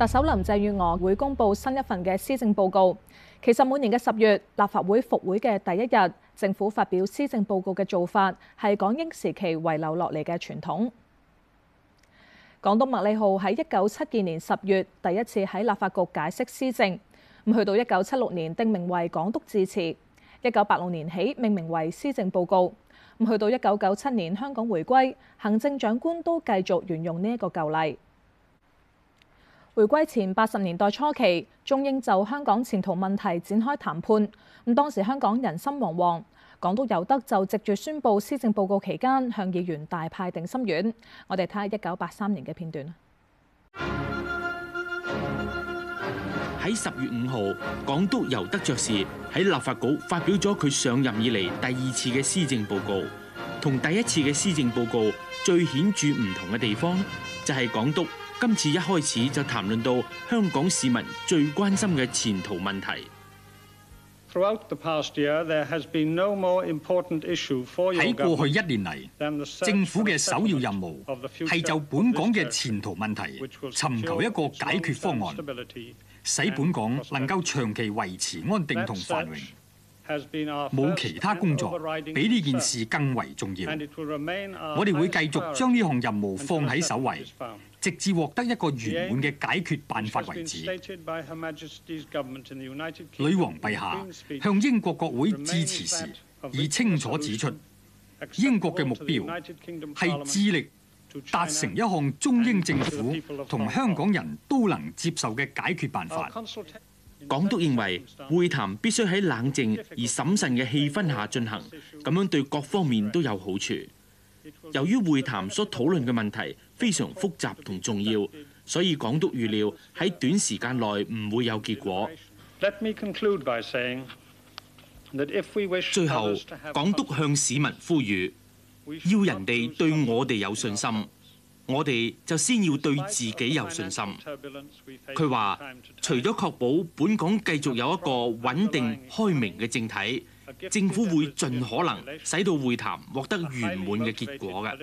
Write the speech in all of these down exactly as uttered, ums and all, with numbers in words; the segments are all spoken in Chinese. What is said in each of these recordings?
特首林鄭月娥會公布新一份嘅施政報告。其實每年嘅十月，立法會復會嘅第一日，政府發表施政報告嘅做法係港英時期遺留落嚟嘅傳統。港督麥理浩喺一九七二年十月第一次喺立法局解釋施政，咁去到一九七六年定名為港督致辭，一九八六年起命名為施政報告。咁去到一九九七年香港回歸，行政長官都繼續沿用呢一個舊例。回歸前八十年代初期，中英就香港前途問題展開談判。咁當時香港人心惶惶，港督尤德就藉住宣佈施政報告期間，向議員大派定心丸。我哋睇下一九八三年嘅片段。 喺十月五號，港督尤德爵士喺立法局發表咗佢上任以嚟第二次嘅施政報告。同第一次嘅施政報告最顯著唔同嘅地方，就係港督今次一開始就談論到香港市民最關心嘅前途問題。 喺過去一年嚟，政府嘅首要任務係就本港嘅前途問題尋求一個解決方案，使本港能夠長期維持安定同繁榮。冇其他工作比呢件事更為重要。我哋會繼續將呢項任務放喺首位，直至獲得一個圓滿嘅解決辦法為止。女王陛下向英國國會致辭時，已清楚指出，英國嘅目標係致力達成一項中英政府同香港人都能接受嘅解決辦法。 港督認為會談必須喺冷靜而審慎嘅氣氛下進行，咁樣對各方面都有好處。由於會談所討論嘅問題非常複雜同重要，所以港督預料喺短時間內唔會有結果。最後，港督向市民呼籲，要人哋對我哋有信心，我哋就先要對自己有信心。佢話，除咗確保本港繼續有一個穩定開明嘅政體，政府會盡可能使到會談獲得圓滿嘅結果嘅。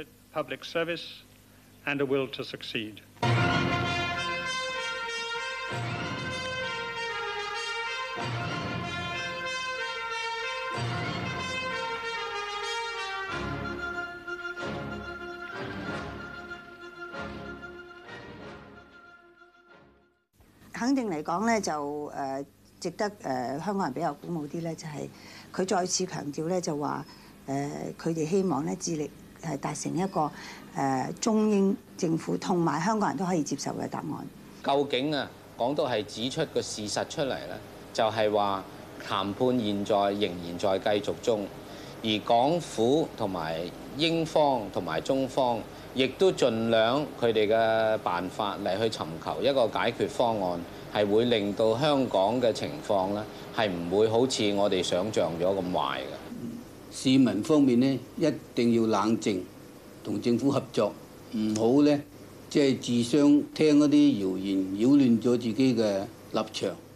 肯定嚟講咧，就誒值得誒香港人比較鼓舞啲咧，就係佢再次強調咧，就話誒佢哋希望咧致力係達成一個誒中英政府同埋香港人都可以接受嘅答案。 究竟啊，港督係指出個事實出嚟咧，就係話談判現在仍然在繼續中，而港府同埋英方同埋中方，亦都盡量佢哋嘅辦法嚟去尋求一個解決方案，係會令到香港嘅情況咧係唔會好似我哋想像咗咁壞嘅。 市民方面呢，一定要冷靜，同政府合作，唔好咧即係自相聽嗰啲謠言，擾亂咗自己嘅立場。